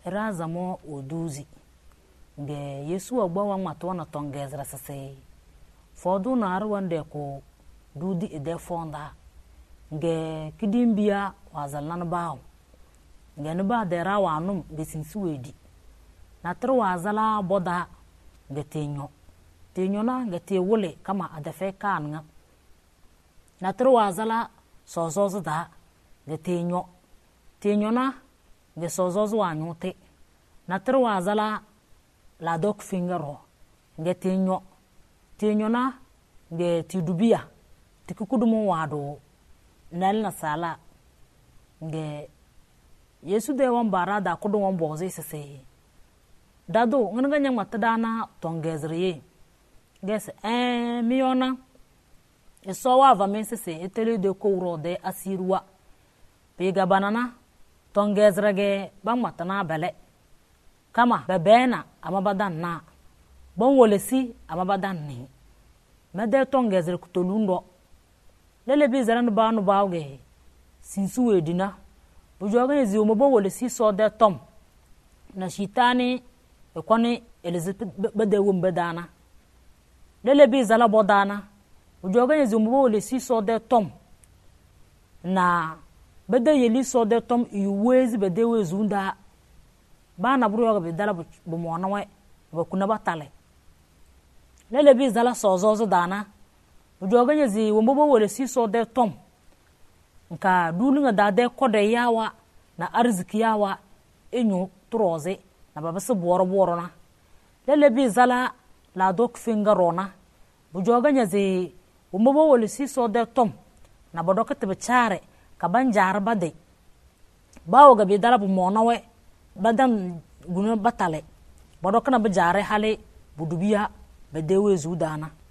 razamo oduzi ge Yesu agbawa mato na tongezra sase fodu na arwande ko dudi ede fonda ge kidimbia wazalnan baaw ge ne ba de rawanum ge sinsuwedi na tro wazala boda ge tenyo na ge te wole kama adafe kanga na tro wazala sozozo da ge tenyo na ge sozozo wanyote na tro wazala la dok fingero ge tenyo na ge tidubia tikukudumu wado nal na sala ge Yesu de wan barada kudu wan bozi sese dado nganga nyang matadana tongezriye ges miona eso wa va mensese etele de kouro de asirwa pega banana tongezrage bang matana bele kama bebena amabadan na bon wolesi amabadan ni mede tongezre kutolundo lele bizaran banu baawge sinsu wedina bujoga yezi omobo wolesi so de tom na shitani ekoni Elizabeth bede wombedana lele bizala bodana bujoga yezi omobo wolesi so de tom na bede yeli so de tom iwezi bede wezunda bana buroga bedala bumona we bakuna batale lele bizala sozozo dana bujoga yezi omobo wolesi so de tom nka duninga dade kode yawa na arziki yawa enyu troze na babase boro na lele bizala la dok fingarona bujoga nyazi omobo wolesi so de tom na bodoka tebe chare ka banjar bade bawo ga bidala bu monawe badan guna batale bodoka na bajare hale budubiya bedewe zudana